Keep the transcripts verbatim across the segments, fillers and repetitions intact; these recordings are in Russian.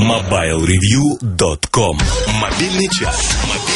мобайл ревью точка ком. Мобильный час.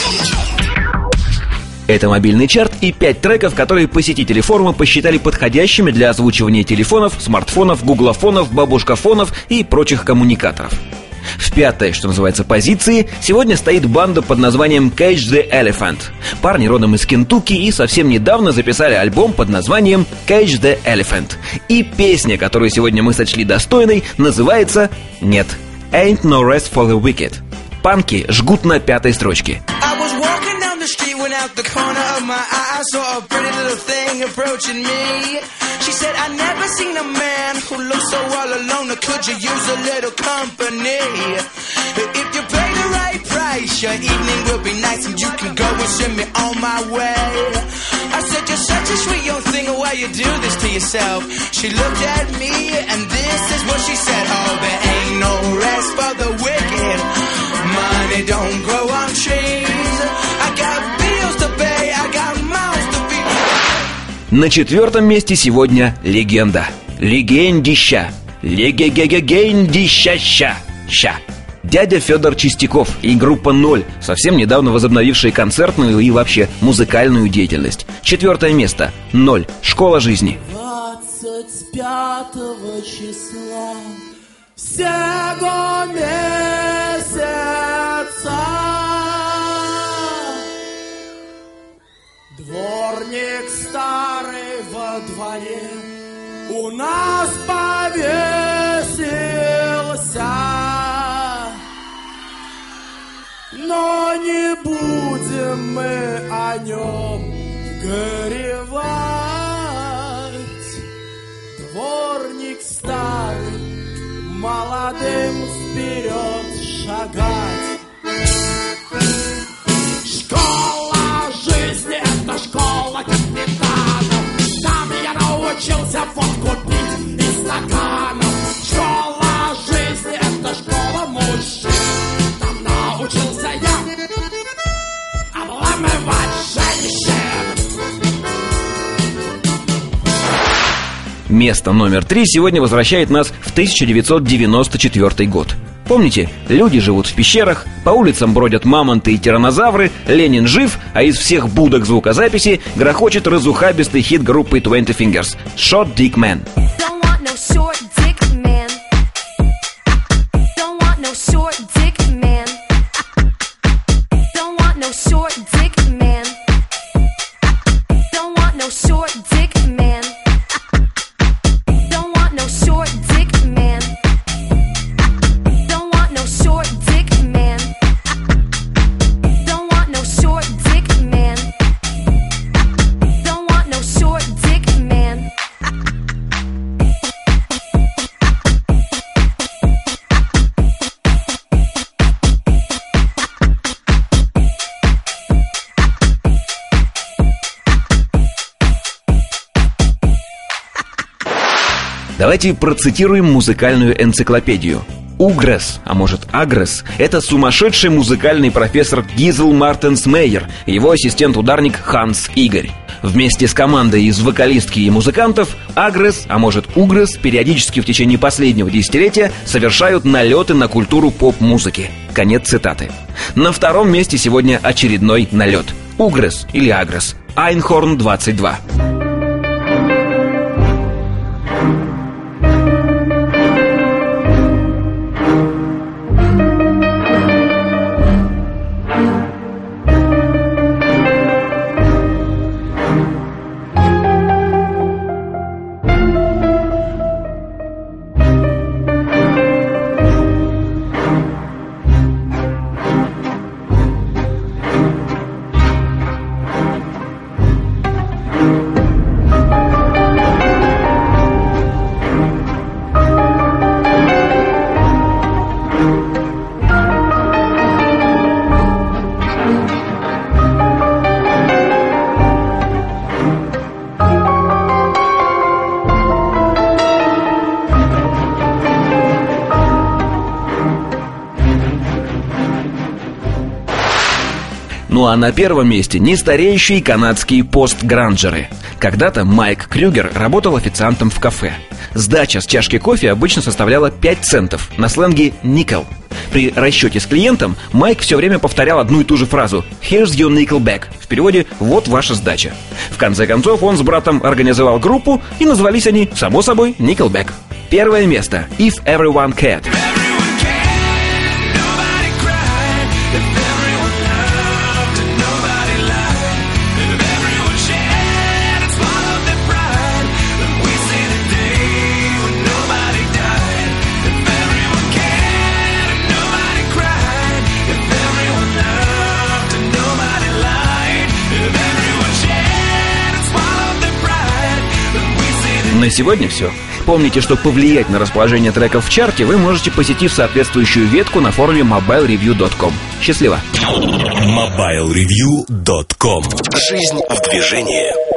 Это мобильный чарт и пять треков, которые посетители форума посчитали подходящими для озвучивания телефонов, смартфонов, гуглофонов, бабушкафонов и прочих коммуникаторов. В пятой, что называется, позиции сегодня стоит банда под названием Cage the Elephant. Парни родом из Кентукки и совсем недавно записали альбом под названием Cage the Elephant. И песня, которую сегодня мы сочли достойной, называется «Нет, Ain't No Rest for the Wicked». Панки жгут на пятой строчке. The street went out the corner of my eye. I saw a pretty little thing approaching me. She said, I never seen a man who looks so all alone. Or could you use a little company? If you pay the right price, your evening will be nice and you can go and send me on my way. I said, you're such a sweet young thing, why you do this to yourself? She looked at me and this is what she said. Oh, there ain't no rest for the wicked. Money don't grow on trees. На четвертом месте сегодня легенда. Легендища. Легегегегендища-ща. Ща. Дядя Федор Чистяков и группа «Ноль», совсем недавно возобновившие концертную и вообще музыкальную деятельность. Четвертое место. «Ноль. Школа жизни». двадцать пятого числа всего месяца дворник старый во дворе у нас повесился, но не будем мы о нем горевать. Дворник старый молодым вперед шагать. Школа капитанов, там я научился водку пить из стаканов. Школа жизни — это школа мужчин, там научился я обламывать женщин. Место номер три сегодня возвращает нас в тысяча девятьсот девяносто четвёртый год. Помните, люди живут в пещерах, по улицам бродят мамонты и тираннозавры, Ленин жив, а из всех будок звукозаписи грохочет разухабистый хит группы Twenty Fingers «Short Dick Man». Давайте процитируем музыкальную энциклопедию. Угрес, а может Агрес, это сумасшедший музыкальный профессор Гизел Мартенс Мейер и его ассистент-ударник Ханс Игорь. Вместе с командой из вокалистки и музыкантов Агрес, а может Угрес, периодически в течение последнего десятилетия совершают налеты на культуру поп-музыки. Конец цитаты. На втором месте сегодня очередной налет. Угрес или Агрес. Айнхорн двадцать два. Ну а на первом месте нестареющие канадские постгранжеры. Когда-то Майк Крюгер работал официантом в кафе. Сдача с чашки кофе обычно составляла пять центов, на сленге «никел». При расчете с клиентом Майк все время повторял одну и ту же фразу «Here's your Nickelback». В переводе «Вот ваша сдача». В конце концов, он с братом организовал группу, и назвались они, само собой, Nickelback. Первое место. If Everyone Cared. На сегодня все. Помните, что повлиять на расположение треков в чарте вы можете, посетив соответствующую ветку на форуме мобайл ревью точка ком. Счастливо! мобайл ревью точка ком. Жизнь в движении.